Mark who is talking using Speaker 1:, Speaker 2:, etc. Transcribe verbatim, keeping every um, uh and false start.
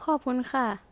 Speaker 1: ขอบคุณค่ะ